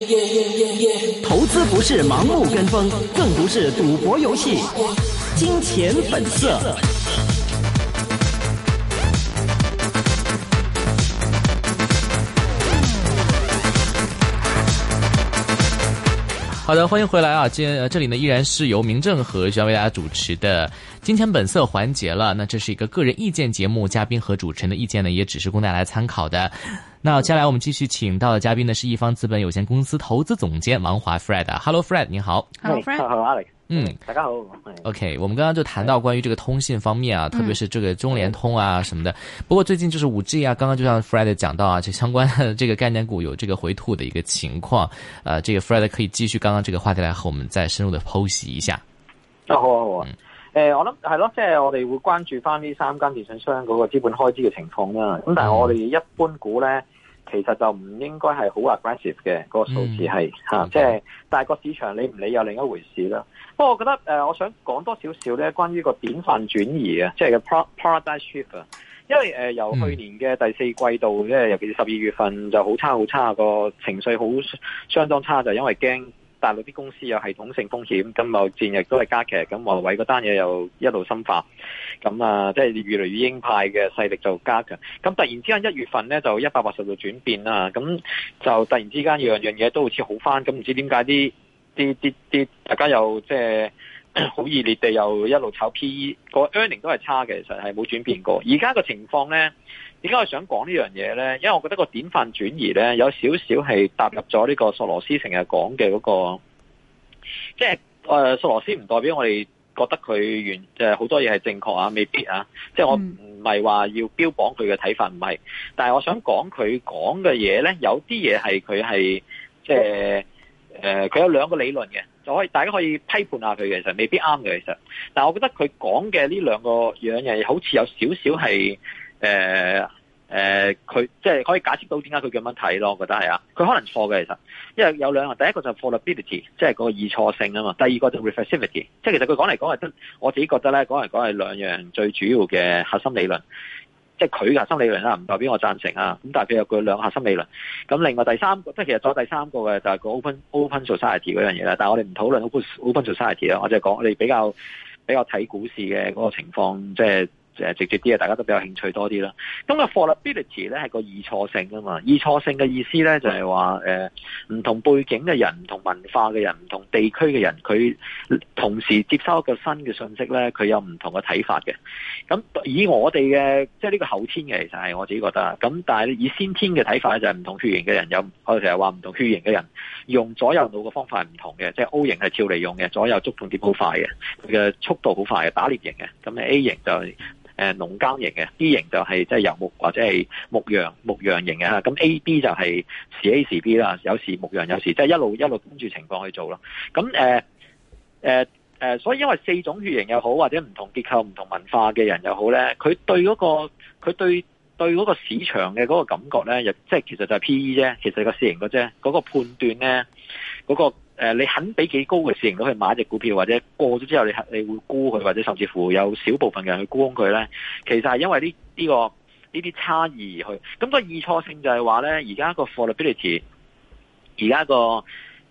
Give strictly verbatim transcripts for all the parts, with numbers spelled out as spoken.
投資不是盲目跟風，更不是賭博遊戲。金錢本色。 好的，歡迎回來啊！今這裡呢依然是由明正和徐陽為大家主持的《金錢本色》環節了。那這是一個個人意見節目，嘉賓和主持人的意見呢也只是供大家來參考的。那接下來我們繼續請到的嘉賓呢是一方資本有限公司投資總監王華 Fred。Hello Fred， 你好。 Hello Fred。Hello Alex。 嗯， 大家好。 OK， 我們剛剛就談到關於這個通信方面啊，特別是這個中聯通啊什麼的。不過最近就是 五 G 啊，剛剛就像 Fred 講到啊，這相關的這個概念股有這個回吐的一個情況。呃，這個 Fred 可以繼續剛剛這個話題來和我們再深入的剖析一下。 啊好啊好啊。誒、嗯呃，我諗係咯，即係我哋會關注翻呢三間電信商嗰個資本開支嘅情況啦。咁但係我哋一般股咧，其實就唔應該係好 aggressive 嘅，嗰個數字係吓，即係但係個市場理唔理又另一回事啦。不過我覺得誒、呃，我想講多少少咧，關於個典範轉移啊，即係個 paradigm shift 啊。因為誒、呃、由去年嘅第四季度，即係尤其是十二月份就好差好差，個情緒好相當差，就因為驚大陸啲公司有系統性風險，咁貿易戰亦都係加劇，咁華為嗰單嘢又一路深化，咁啊即係越嚟越鷹派嘅勢力就加強。咁突然之間一月份咧就一百八十度轉變啦，咁就突然之間樣樣嘢都好似好翻，咁唔知點解啲啲啲啲大家又即係好熱烈地又一路炒 P E， 個 earning 都係差嘅，其實係冇轉變過。而家個情況咧，點解我想講呢樣嘢咧？因為我覺得個典範轉移咧，有少少係踏入咗呢個索羅斯成日講嘅嗰個，即係誒索羅斯唔代表我哋覺得佢原即係好多嘢係正確啊，未必啊。即係我唔係話要標榜佢嘅睇法，唔係。但係我想講佢講嘅嘢咧，有啲嘢係佢係即係誒，佢有兩個理論嘅，就可以大家可以批判下佢嘅，其實未必啱嘅，其實。但係我覺得佢講嘅呢兩個樣嘢，好似有少少係。誒、呃、誒，佢、呃、即係可以解釋到點解佢咁樣睇咯，我覺得係啊，佢可能錯嘅其實，因為有兩個，第一個就 fallibility， 即係個易錯性啊嘛，第二個就 reflexivity， 即係其實佢講嚟講去，我自己覺得咧，講嚟講係兩樣最主要嘅核心理論，即係佢嘅核心理論啦，唔代表我贊成啊，咁但係佢有佢兩個核心理論，咁另外第三個，即係其實再第三個嘅就係個 open open society 嗰樣嘢啦，但係我哋唔討論 open open society 啦，我就係講我哋比較比較睇股市嘅嗰個情況，即係。誒直接啲啊，大家都比較興趣多啲啦。咁個 fallibility 咧係個易錯性啊嘛，易錯性嘅意思咧就係話誒唔同背景嘅人、唔同文化嘅人、唔同地區嘅人，佢同時接收一個新嘅信息咧，佢有唔同嘅睇法嘅。咁以我哋嘅即係呢個後天嘅，其實係我自己覺得。咁但係以先天嘅睇法咧，就係唔同血型嘅人有，我哋成日話唔同血型嘅人用左右腦嘅方法係唔同嘅，即係 O 型係跳嚟用嘅，左右觸動點好快嘅，佢嘅速度好快嘅，打獵型嘅。咁 A 型就係誒農耕型嘅 ，B 型就係即係游牧或者係牧羊牧羊型嘅嚇，咁 A、B 就係時 A 時 B 啦，有時牧羊，有時即係一路一路跟住情況去做咯。咁誒誒誒，所以因為四種血型又好，或者唔同結構、唔同文化嘅人又好咧，佢對嗰個佢對對嗰個市場嘅嗰個感覺咧，亦即係其實就係 P E 啫，其實個市盈率啫，嗰個判斷咧，嗰個。誒，你肯俾幾高嘅市盈率去買一隻股票，或者過咗之後你你會沽佢，或者甚至乎有少部分嘅人去沽空佢咧，其實係因為呢呢個呢啲差異而去。咁個易錯性就係話咧，而家個 fallibility， 而家個誒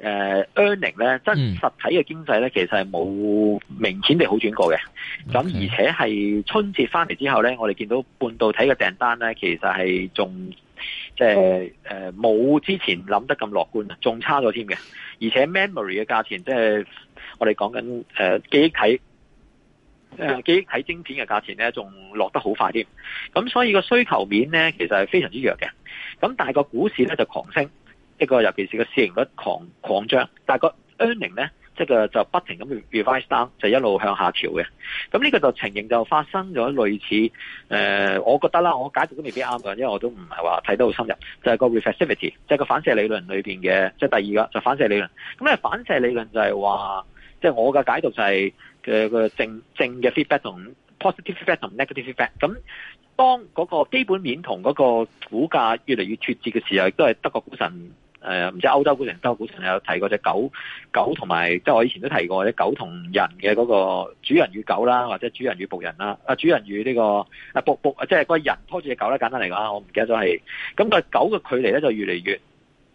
earning 咧，真實體嘅經濟咧，其實係冇明顯地好轉過嘅。咁、okay. 而且係春節翻嚟之後咧，我哋見到半導體嘅訂單咧，其實係仲即係誒冇之前諗得咁樂觀，仲差咗添嘅。而且 memory 嘅價錢，即係我哋講緊誒記憶體誒記憶體晶片嘅價錢咧，仲落得好快添。咁所以個需求面咧，其實係非常之弱嘅。咁但係個股市咧就狂升，一個尤其是個市盈率狂狂漲，但係個 earning 咧，即係就不停咁 revise down，就一路向下調嘅。咁呢個就情形就發生咗類似誒、呃，我覺得啦，我解讀都未必啱嘅，因為我都唔係話睇得好深入。就係、是、個 reflexivity，即係個反射理論裏邊嘅，即、就、係、是、第二個就反射理論。咁咧反射理論就係話，即、就、係、是、我嘅解讀就係嘅個正正嘅 feedback 同 positive feedback 同 negative feedback。咁當嗰個基本面同嗰個股價越嚟越脫節嘅時候，亦都係德國股神。誒、呃，唔知歐洲股神、德國股神有提過隻狗狗同埋，即係我以前都提過隻狗同人嘅嗰個主人與狗啦，或者主人與僕人啦，啊主人與呢、這個啊僕僕，即係個人拖住隻狗啦，簡單嚟講，我唔記得咗係，咁、那個狗嘅距離咧就越嚟越，即係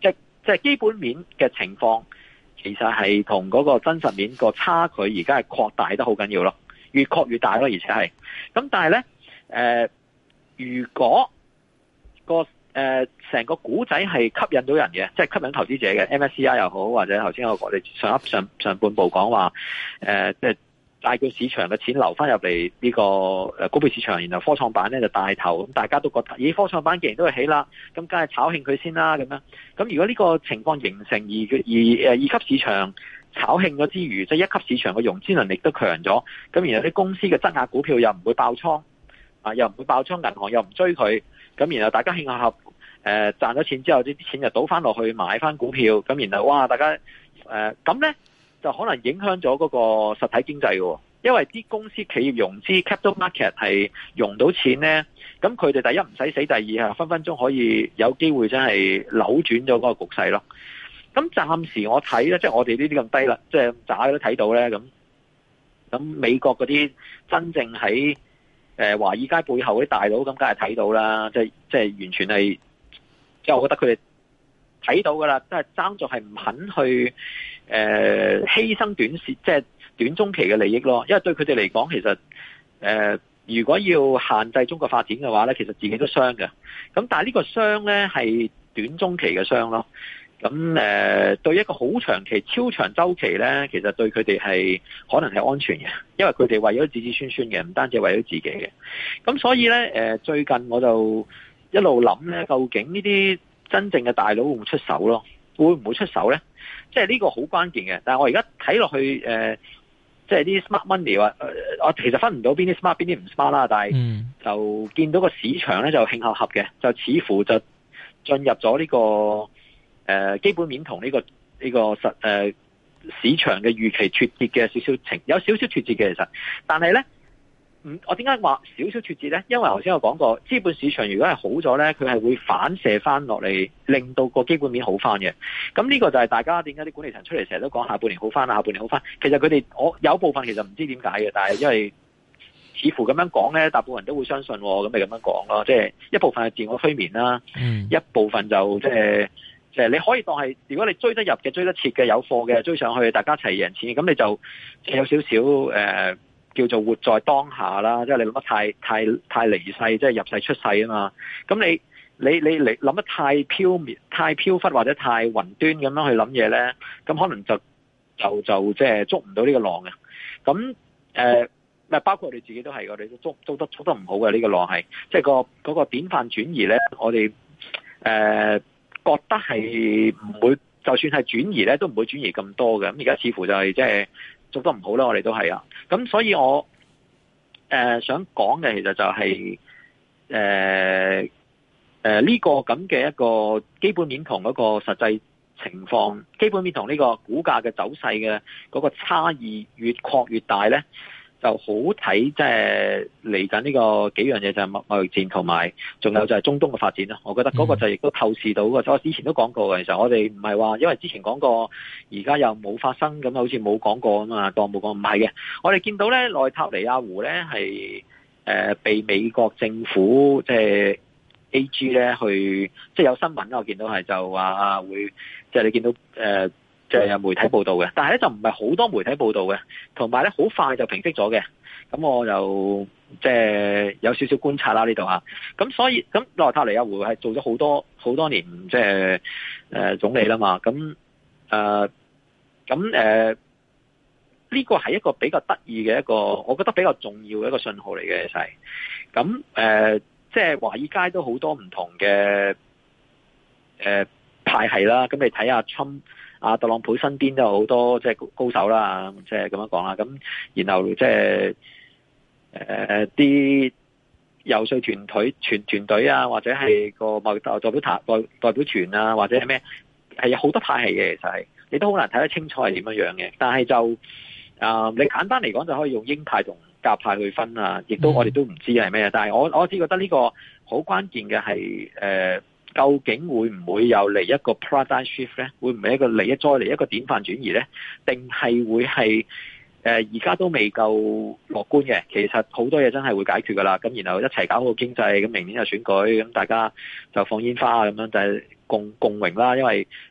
即係基本面嘅情況，其實係同嗰個真實面個差距而家係擴大得好緊要咯，越擴越大咯，而且係咁。但係咧，誒、呃，如果個誒成個股仔係吸引到人嘅，即係吸引投資者嘅 M S C I 又好，或者頭先我哋上一上上半部講話，誒、呃，即係帶叫市場嘅錢流翻入嚟呢個誒股票市場，然後科創板咧就帶頭，咁大家都覺得，咦，科創板既然都係起啦，咁梗係炒興佢先啦，咁樣。咁如果呢個情況形成而而誒二級市場炒興咗之餘，即係一級市場嘅融資能力都強咗，咁然後啲公司嘅質押股票又唔會爆倉，啊，又唔會爆倉，銀行又唔追佢。咁然後大家興合合，誒賺咗錢之後，啲錢就倒翻落去買翻股票，咁然後哇，大家誒咁咧就可能影響咗嗰個實體經濟嘅，因為啲公司企業融資 capital market 係融到錢咧，咁佢哋第一唔使死，第二係分分鐘可以有機會真係扭轉咗嗰個局勢咯。咁暫時我睇咧，即係我哋呢啲咁低啦，即係渣都睇到咧，咁咁美國嗰啲真正喺誒華爾街背後嗰啲大佬咁，梗係睇到啦，即係即係完全係，即係我覺得佢哋睇到噶啦，都係爭在係唔肯去誒犧牲短線，即係短中期嘅利益咯。因為對佢哋嚟講，其實誒、呃、如果要限制中國發展嘅話咧，其實自己都傷嘅。咁但係呢個傷咧係短中期嘅傷咯。咁誒、呃、對一個好長期、超長週期咧，其實對佢哋係可能係安全嘅，因為佢哋為咗子子孫孫嘅，唔單止為咗自己嘅。咁所以咧誒、呃、最近我就一路諗咧，究竟呢啲真正嘅大佬會唔會出手咯？會唔會出手咧？即係呢個好關鍵嘅。但係我而家睇落去誒、呃，即係啲 smart money 話、呃，我其實分唔到邊啲 smart 邊啲唔 smart 啦。但係就見到個市場咧就興合合嘅，就似乎就進入咗呢、這個誒、呃、基本面同呢、這個呢、這個實誒、呃、市場嘅預期脫節嘅少少情，有少少脫節嘅其實，但係咧。嗯，我點解話少少脫節咧？因為頭先我講過，資本市場如果係好咗咧，佢係會反射翻落嚟，令到個基本面好翻嘅。咁呢個就係大家點解啲管理層出嚟成日都講下半年好翻啊，下半年好翻。其實佢哋我有部分其實唔知點解嘅，但係因為似乎咁樣講咧，大部分人都會相信，咁咪咁樣講咯。即係一部分係自我催眠啦，嗯、一部分就即係即係你可以當係，如果你追得入嘅、追得切嘅、有貨嘅追上去，大家一齊贏錢，咁你就有少少誒。呃叫做活在當下啦，即係你諗得太太太離世，即係入世出世啊嘛。咁你你你你諗得太飄渺、太飄忽或者太雲端咁樣去諗嘢咧，咁可能就就就即係捉唔到呢個浪嘅。咁誒，咪包括我哋自己都係，我哋都捉捉得捉得唔好嘅呢個浪係，即係個嗰個典範轉移咧，我哋誒覺得係唔會，就算係轉移咧，都唔會轉移咁多嘅。咁而家似乎就係即係。做得唔好啦，我哋都係啊，咁所以我誒、呃、想講嘅其實就係誒誒呢個咁嘅一個基本面同嗰個實際情況，基本面同呢個股價嘅走勢嘅嗰個差異越擴越大咧，就好睇，即係嚟緊呢個幾樣嘢就係貿易戰同埋，仲有就係中東嘅發展啦。我覺得嗰個就亦都透視到嘅。我之前都講過嘅，其實我哋唔係話因為之前講過，而家又冇發生，咁好似冇講過啊嘛，當冇講。唔係嘅，我哋見到咧內塔尼亞胡咧係誒被美國政府即係 A G 咧去，即係有新聞我見到係就話會，即係你見到誒。呃即係有媒體報道嘅，但係咧就唔係好多媒體報道嘅，同埋咧好快就平息咗嘅。咁我就即係有少少觀察啦呢度吓。咁所以咁內塔尼亞胡係做咗好多好多年即係誒總理啦嘛。咁誒咁誒呢個係一個比較得意嘅一個，我覺得比較重要嘅一個信號嚟嘅，其實係咁誒，即係華爾街都好多唔同嘅誒、呃、派系啦。咁你睇下川啊，特朗普身邊都有好多即係高手啦，即係咁樣講啦。咁然後即係誒啲遊說團隊團團隊啊，或者係個貿易代表團代代表團啊，或者係咩係有好多派系嘅，其實係你都好難睇得清楚係點樣樣嘅。但係就啊、呃，你簡單嚟講就可以用鷹派同鴿派去分啊，亦都我哋都唔知係咩。但係我我只覺得呢個好關鍵嘅係誒。究竟會唔會又嚟一個 paradigm shift 咧？會唔會一個嚟一再嚟一個典範轉移咧？定係會係誒而家都未夠樂觀嘅？其實好多嘢真係會解決噶啦。咁然後一齊搞好經濟，咁明年就選舉，咁大家就放煙花咁樣，就係共共榮啦。因為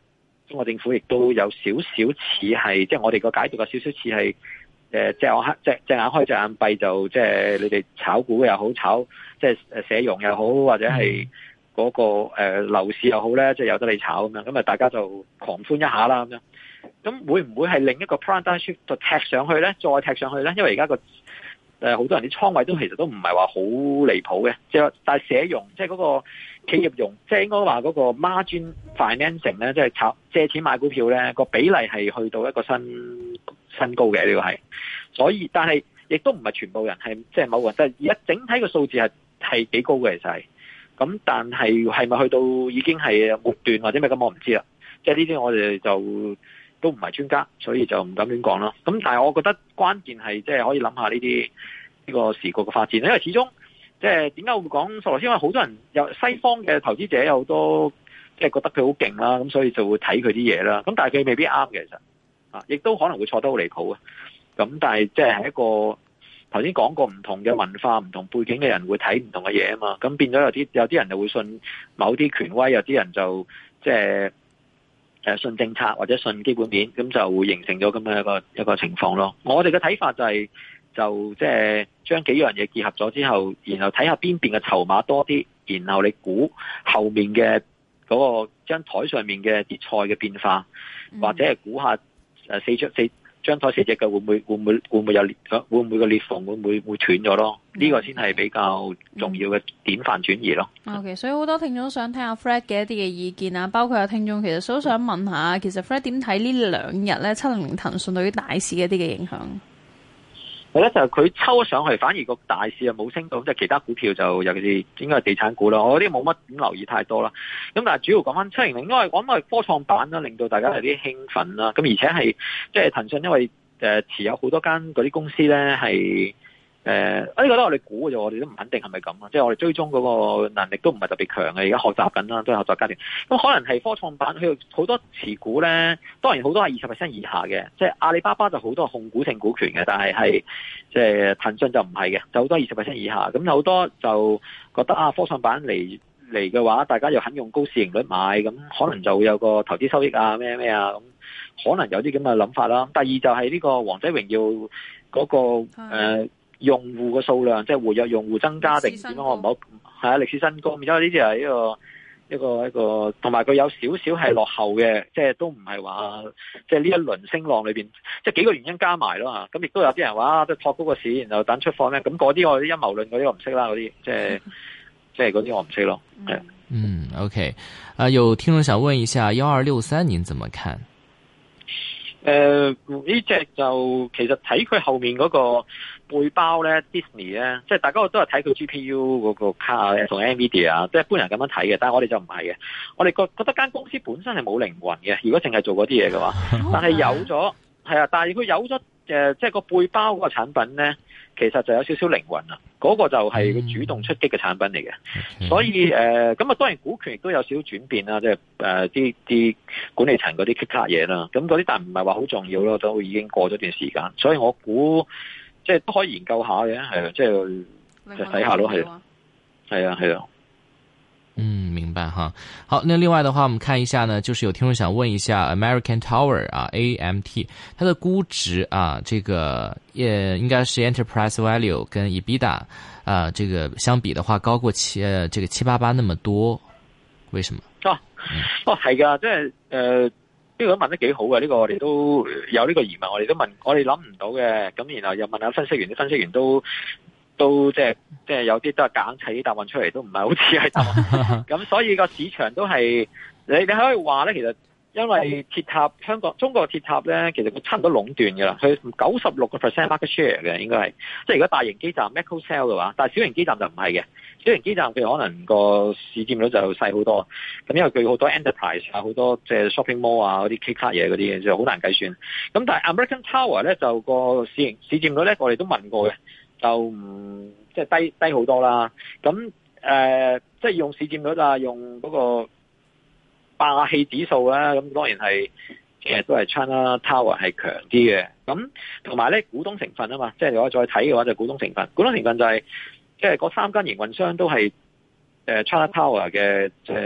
中國政府亦都有少少似係，即係我哋個解讀有少少似係誒隻眼開隻隻眼開隻眼閉，就即係你哋炒股又好，炒即係誒社融又好，或者係嗰個誒樓市又好咧，即係有得你炒咁樣，咁啊大家就狂歡一下啦咁樣。咁會唔會係另一個 paradigm shift 就踢上去咧？再踢上去咧？因為而家個誒好多人啲倉位都其實都唔係話好離譜嘅，即係但係社融即係嗰個企業融，即係應該話嗰個 margin financing 咧，即係炒借錢買股票咧，個比例係去到一個新新高嘅呢個係。所以但係亦都唔係全部人係即係某個人，即係而家整體嘅數字係係幾高嘅其實係。咁但係係咪去到已經係末段或者咩咁我唔知啦。即係呢啲我哋就都唔係專家，所以就唔敢亂講啦。咁但係我覺得關鍵係即係可以諗下呢啲呢個時局嘅發展，因為始終即係點解會講索羅斯？因為好多人有西方嘅投資者有好多即係覺得佢好勁啦，咁所以就會睇佢啲嘢啦。咁但係佢未必啱嘅，其實啊，亦都可能會錯得好離譜啊。咁但係即係一個頭先講過唔同嘅文化、唔同背景嘅人會睇唔同嘅嘢啊嘛。咁變咗有啲有啲人就會信某啲權威，有啲人就即係誒信政策或者信基本面，咁就會形成咗咁樣一個一個情況咯。我哋嘅睇法就係、是、就即係將幾樣嘢結合咗之後，然後睇下邊邊嘅籌碼多啲，然後你估後面嘅嗰個張台上面嘅啲菜嘅變化，嗯、或者係估下誒四張四張台四隻嘅會唔會會唔會會唔會有裂會唔會個裂縫會唔會會斷咗咯？呢、嗯、個先係比較重要嘅典範轉移咯。 OK，所以好多聽眾想聽下 Fred 嘅一啲嘅意見啊，包括有聽眾其實都想問下，其實 Fred 點睇呢兩日咧七零零騰訊對於大市嘅一啲嘅影響？ 係咧，就係佢抽咗上去，反而個大市又冇升到，即係其他股票就尤其是應該係地產股啦。我啲冇乜點留意太多啦。咁但係主要講翻七零零，因為講係科創板啦，令到大家有啲興奮啦。咁而且係即係騰訊，因為誒持有好多間嗰啲公司咧係。誒，呢個都係我哋估嘅啫，我哋都唔肯定係咪咁啊！即係我哋追蹤嗰個能力都唔係特別強嘅，而家學習緊啦，都係學習階段。咁可能係科創板佢好多持股咧，當然好多係二十 percent 以下嘅，即係阿里巴巴就好多控股性股權嘅，但係係即係騰訊就唔係嘅，就好多二十 percent 以下。咁好多就覺得啊，科創板嚟嚟嘅話，大家又肯用高市盈率買，咁可能就會有個投資收益啊，咩咩啊，咁可能有啲咁嘅諗法啦。第二就係呢個王者榮耀嗰個誒。用戶嘅數量，即係活躍用戶增加定點樣？我唔好係啊，歷史新高。因為呢啲係一個一個一個，同埋佢有少少係落後嘅，即係都唔係話，即係呢一輪升浪裏邊，即係幾個原因加埋咯嚇。咁亦都有啲人話，即係托高個市，然後等出貨咧。咁嗰啲我啲陰謀論嗰啲我唔識啦，嗰啲即係即係嗰啲我唔識咯。係嗯 ，OK， 啊，有聽眾想問一下，幺二六三，您怎麼看？ 誒，呢隻就其實睇佢後面嗰個背包咧 ，Disney 咧，即係大家都係睇佢 G P U 嗰個卡同 Nvidia 啊，即係一般人咁樣睇嘅，但係我哋就唔係嘅，我哋覺覺得間公司本身係冇靈魂嘅，如果淨係做嗰啲嘢嘅話，但係有咗係啊，但係佢有咗誒，即係個背包嗰個產品咧，其實就有少少靈魂啊，嗰、嗰個就係佢主動出擊嘅產品嚟嘅，嗯、所以誒，咁啊當然股權亦都有少少轉變啦，即係誒啲啲管理層嗰啲 kick 卡嘢啦，咁嗰啲但唔係話好重要咯，都已經過咗段時間，所以我估即係都可以研究下嘅，係啊，即係就睇下咯，係係啊，係啊。 嗯，明白哈。好，那另外的話，我們看一下呢，就是有聽眾想問一下 American Tower 啊 ，A M T， 它的估值啊，這個也應該是 Enterprise Value 跟 EBITDA 啊，這個相比的話高過七，呃，這個七八八那麼多，為什麼？哦， 嗯、哦係噶，即係誒，呢個問得幾好嘅，呢、這個我哋都有呢個疑問，我哋都問，我哋諗唔到嘅，咁然後又問下分析員，啲分析員都。都即係即係有啲都係夾硬砌啲答案出嚟，都唔係好似係答案。咁所以個市場都係你你可以話咧，其實因為鐵塔香港中國鐵塔咧，其實佢差唔多壟斷嘅啦，佢九十六個 percent market share 嘅應該係。即係如果大型基站 macro cell 嘅話，但係小型基站就唔係嘅。小型基站佢可能個市佔率就細好多。咁因為佢好多 enterprise 啊，好多即係 shopping mall 啊嗰啲 K 卡嘢嗰啲，就好難計算。咁但係 American Tower 咧就個市盈市佔率咧，我哋都問過嘅。就唔即係低低好多啦，咁誒、呃、即係用市佔率啊，用嗰個霸氣指數啦，咁當然係其實都係 China Tower 係強啲嘅，咁同埋咧股東成分啊嘛，即係如果再睇嘅話就股東成分，股東成分就係、是、即係嗰三間營運商都係誒 China Tower 嘅誒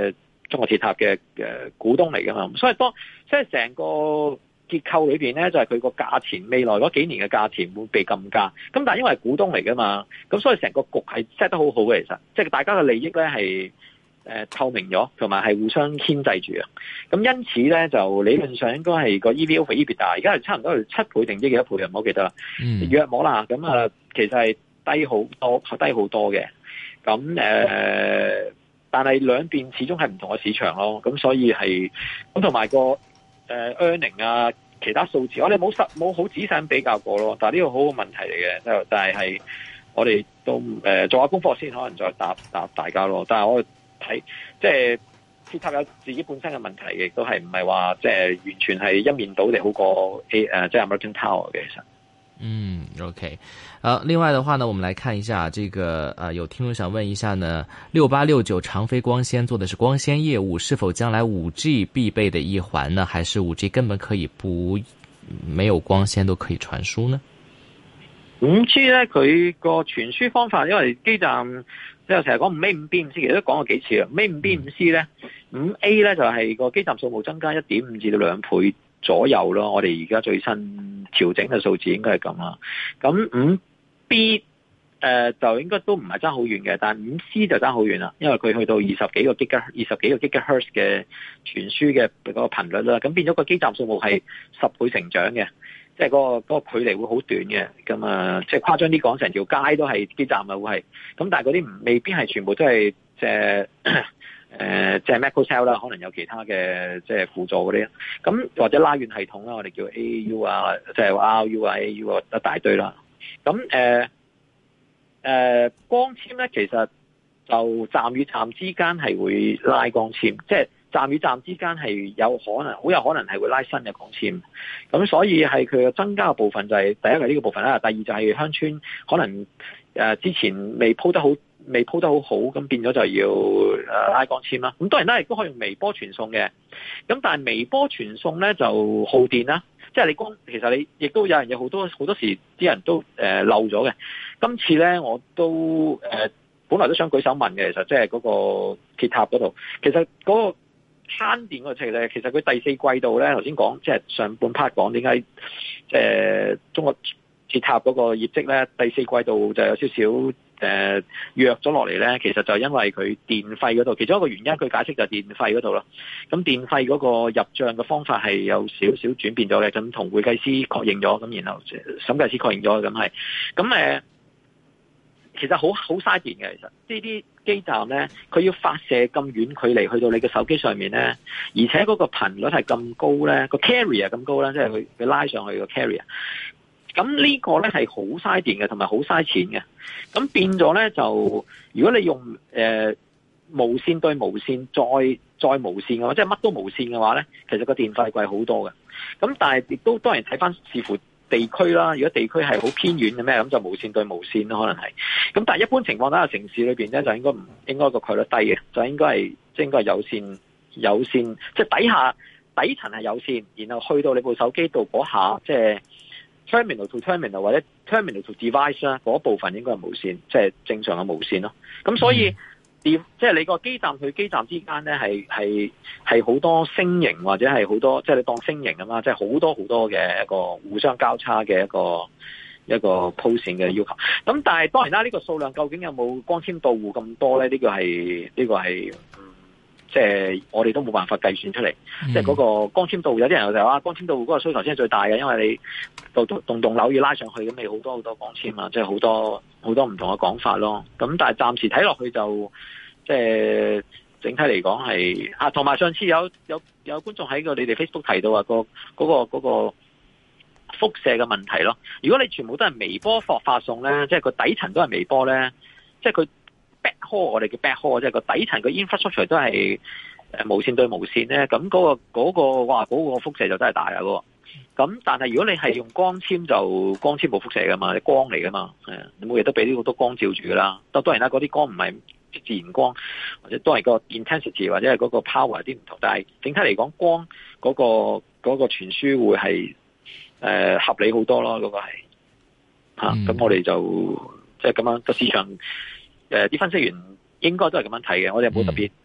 中國鐵塔嘅嘅股東嚟噶嘛，所以當即係成個結構裏邊咧，就係佢個價錢未來嗰幾年嘅價錢會被禁價。咁但係因為係股東嚟噶嘛，咁所以成個局係 set 得好好嘅，其實即係大家嘅利益咧係誒透明咗，同埋係互相牽制住啊。咁因此咧，就理論上應該係個 E V over EBITDA，而家係差唔多係七倍定唔知幾多倍啊？唔好記得啦。嗯，約莫啦。咁啊，其實係低好多，低好多嘅。咁誒。呃但係兩邊始終係唔同嘅市場咯，咁所以係咁同埋個誒 earning 啊，其他數字我哋冇實冇好仔細比較過咯。但係呢個好好問題嚟嘅，就但係係我哋都誒、呃、做下功課先，可能再答答大家咯。但係我睇即係鐵塔有自己本身嘅問題，亦都係唔係話即係完全係一面倒地好過 A 誒即係 American Tower 嘅其實。 嗯 ，OK，呃，另外的話呢，我們來看一下這個，呃，有聽眾想問一下呢，六八六九長飛光纖做的是光纖業務，是否將來五 G 必備的一環呢？還是五 G 根本可以不沒有光纖都可以傳輸呢？ 五 G 咧，佢個傳輸方法，因為基站即係成日講五 A 五 B 五 C，其實都講過幾次啦。五 A 五 B 五 C 咧，五 A 咧就係個基站數目增加一點五至到兩倍左右咯。我哋而家最新調整嘅數字應該係咁啦。咁五 B 誒、呃、就應該都唔係爭好遠嘅，但係五 C 就爭好遠啦，因為佢去到二十幾個 Giga、二十幾個 Gigahertz 嘅傳輸嘅嗰個頻率啦。咁變咗個基站數目係十倍成長嘅，即係嗰個嗰個距離會好短嘅。咁啊，即係誇張啲講，成條街都係基站啊，會係。咁但係嗰啲唔未必係全部都係即係誒即係 macro cell 啦，可能有其他嘅即係輔助嗰啲。咁或者拉遠系統啦，我哋叫 A A U 啊，即係 R U 啊 A A U 啊一大堆啦。咁誒誒光纖咧，其實就站與站之間係會拉光纖，即係站與站之間係有可能，好有可能係會拉新嘅光纖。咁所以係佢嘅增加嘅部分就係、是、第一係呢個部分啦，第二就係鄉村可能誒、呃、之前未鋪得好，未鋪得好好，咁變咗就要誒拉光纖啦。咁當然啦，亦都可以用微波傳送嘅。咁但係微波傳送咧就耗電啦。即係你光，其實你亦都有人有好多好多時啲人都誒、呃、漏咗嘅。今次咧我都誒、呃、本來都想舉手問嘅，其實即係嗰個鐵塔嗰度，其實嗰個慳電嗰個程度咧，其實佢第四季度咧頭先講，即係上半 part 講點解即係中國鐵塔嗰個業績咧第四季度就有少少。誒、呃、弱咗落嚟咧，其實就因為佢電費嗰度，其中一個原因佢解釋就係電費嗰度咯。咁電費嗰個入帳嘅方法係有少少轉變咗嘅，咁同會計師確認咗，咁然後審計師確認咗，咁係。咁誒，其實好好嘥電嘅，其實呢啲基站咧，佢要發射咁遠距離去到你嘅手機上面咧，而且嗰個頻率係咁高咧，個 carrier 咁高咧，即係佢佢拉上去個 carrier。咁呢個咧係好嘥電嘅，同埋好嘥錢嘅。咁變咗咧就，如果你用誒、呃、無線對無線再再無線嘅話，即係乜都無線嘅話咧，其實個電費貴好多嘅。咁但係亦都當然睇翻視乎地區啦。如果地區係好偏遠嘅咩，咁就無線對無線咯，可能係。咁但係一般情況底下，城市裏邊咧就應該唔應該個概率低嘅，就應該係即係應該係有線有線，即係底下底層係有線，然後去到你部手機度嗰下即係。Terminal to terminal 或者 terminal to device 啦，嗰部分應該係無線，即係正常嘅無線咯。咁所以，即係你個基站去基站之間咧，係係係好多星型或者係好多，即係你當星型啊嘛，即係好多好多嘅一個互相交叉嘅一個一個鋪線嘅要求。咁但係當然啦，呢個數量究竟有冇光纖到戶咁多咧？呢個係呢個係。即係我哋都冇辦法計算出嚟，即係嗰個光纖到戶，有啲人就話光纖到戶嗰個需求先係最大嘅，因為你棟棟棟樓要拉上去，咁你好多好多光纖啊，即係好多好多唔同嘅講法咯。咁但係暫時睇落去就即係整體嚟講係啊，同埋上次有有有觀眾喺個你哋 Facebook 提到話個嗰個嗰個輻射嘅問題咯。如果你全部都係微波發發送咧，即係個底層都係微波咧，即係佢。backhaul 我哋叫 backhaul，即係個底層個 infrastructure 都係誒無線對無線咧，咁嗰個嗰個哇嗰個輻射就真係大啊！嗰個咁，但係如果你係用光纖就光纖冇輻射噶嘛，你光嚟噶嘛，係啊，你每日都俾啲好多光照住噶啦。當當然啦，嗰啲光唔係自然光，或者都係個 intensity 或者係嗰個 power 有啲唔同，但係整體嚟講，光嗰個嗰個傳輸會係誒合理好多咯，嗰個係吓。咁我哋就即係咁樣個市場。誒，啲分析員應該都係咁樣睇嘅，我哋冇特別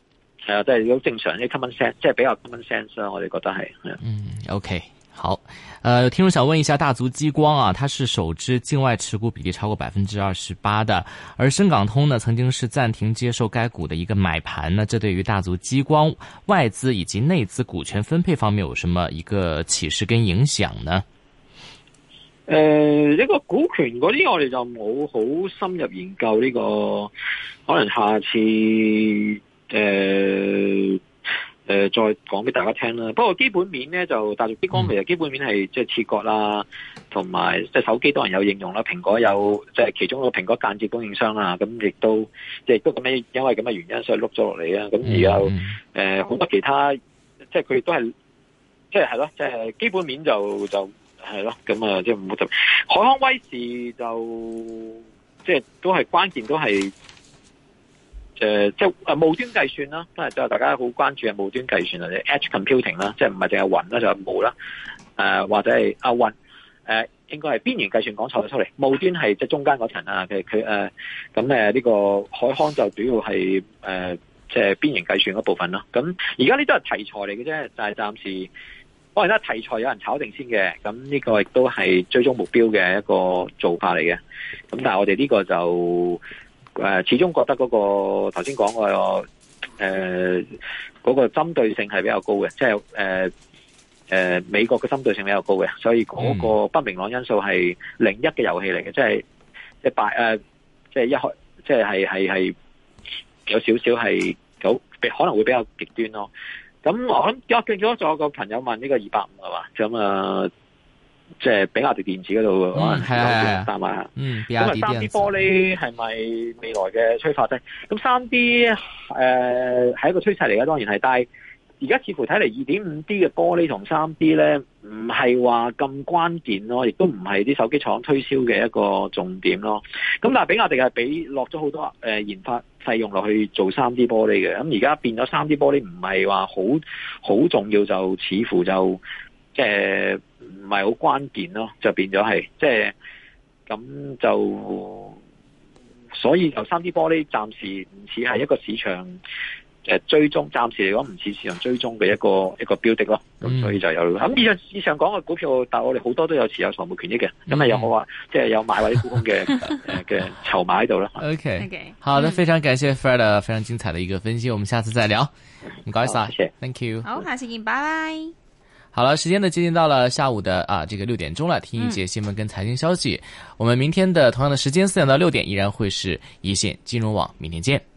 係啊，即係好正常啲 common sense， 即係比較 common sense 啦，我哋覺得係。 嗯 ，OK。好，呃，聽眾想問一下大族激光啊，它是首支境外持股比例超過百分之二十八的，而深港通呢曾經是暫停接受該股的一個買盤呢，這對於大族激光外資以及內資股權分配方面有什麼一個啟示跟影響呢？ 誒、呃，呢、這個股權嗰啲我哋就冇好深入研究呢、這個，可能下次誒。呃誒、呃，再講俾大家聽啦。不過基本面咧就大族激光其實基本面係即係切割啦，同埋即係手機當然有應用啦。蘋果有即係、就是、其中一個蘋果間接供應商啦。咁亦都即係都咁樣，因為咁嘅原因所以碌咗落嚟啊。咁而有誒好多其他，即係佢都係即係係咯，即係基本面就就係咯。咁啊，即係唔好就海康威視就即係都係關鍵都係。誒、呃，即係誒，霧端計算啦，都係就大家好關注嘅霧端計算或者 edge computing 啦，即係唔係淨係雲啦，就係霧啦，誒或者係啊雲，誒、呃、應該係邊緣計算講錯咗出嚟，霧端係即係中間嗰層啊，佢佢誒咁誒呢個海康就主要係誒即係邊緣計算嗰部分咯。咁而家呢都係題材嚟嘅啫，就係、是、暫時當然啦，題材有人炒定先嘅，咁呢個亦都係追蹤目標嘅一個做法嚟嘅。咁但係我哋呢個就。誒，始終覺得嗰、那個頭先講個誒嗰個針對性係比較高嘅，即係誒誒美國嘅針對性比較高嘅，所以嗰個不明朗因素係零一嘅遊戲嚟嘅，即係即係敗誒，即係一開即係係係係有少少係有可能會比較極端咯。咁我諗我見咗咗個朋友問呢個二百五係嘛，咁啊。即係比亞迪電子嗰度，可能係啊，三萬。嗯，咁啊，三 D 玻璃係咪未來嘅催化劑？咁三 D 誒係一個趨勢嚟嘅，當然係。但係而家似乎睇嚟，二點五 D 嘅玻璃同三 D 咧，唔係話咁關鍵咯，亦都唔係啲手機廠推銷嘅一個重點咯。咁但係比亞迪係俾落咗好多誒研發費用落去做三 D 玻璃嘅。咁而家變咗三 D 玻璃唔係話好好重要，就似乎就即係。唔係好關鍵咯，就變咗係即係咁就，所以就三 D 玻璃暫時唔似係一個市場誒追蹤，暫時嚟講唔似市場追蹤嘅一個一個標的咯。咁、嗯、所以就有咁以上以上講嘅股票，但係我哋好多都有持有財務權益嘅，咁係有冇話即係有買或者沽空嘅誒嘅籌碼喺度啦。 OK， 好的，非常感謝 Fred 非常精彩的一個分析，我們下次再聊。唔該晒，謝謝 ，Thank you。 好，下次見，拜拜。 好了，時間呢接近到了下午的啊這個六點鐘了，聽一節新聞跟財經消息。嗯、我們明天的同樣的時間四點到六點依然會是一線金融網，明天見。